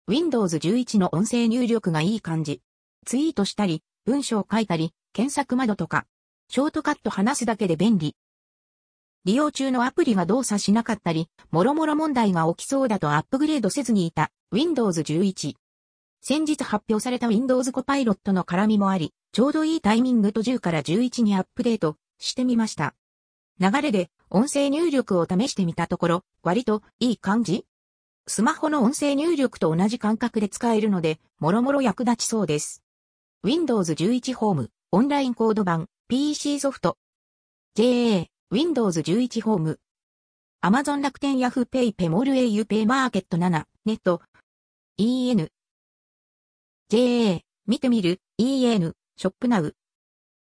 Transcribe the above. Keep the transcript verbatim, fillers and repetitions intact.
ウィンドウズじゅういち の音声入力がいい感じ。ツイートしたり、文章を書いたり、検索窓とか。ショートカット話すだけで便利。利用中のアプリが動作しなかったり、もろもろ問題が起きそうだとアップグレードせずにいた ウィンドウズじゅういち。先日発表された Windows コパイロットの絡みもあり、ちょうどいいタイミングとじゅうからじゅういちにアップデートしてみました。流れで音声入力を試してみたところ、割といい感じ？スマホの音声入力と同じ感覚で使えるので、もろもろ役立ちそうです。ウィンドウズじゅういち ホーム、オンラインコード版、ピーシー ソフト。ジェーエー、ウィンドウズじゅういち ホーム。Amazon 楽天ヤフーペイペモール au ペイマーケットなな、ネット。イーエヌ。ジェーエー、見てみる、イーエヌ、ショップナウ。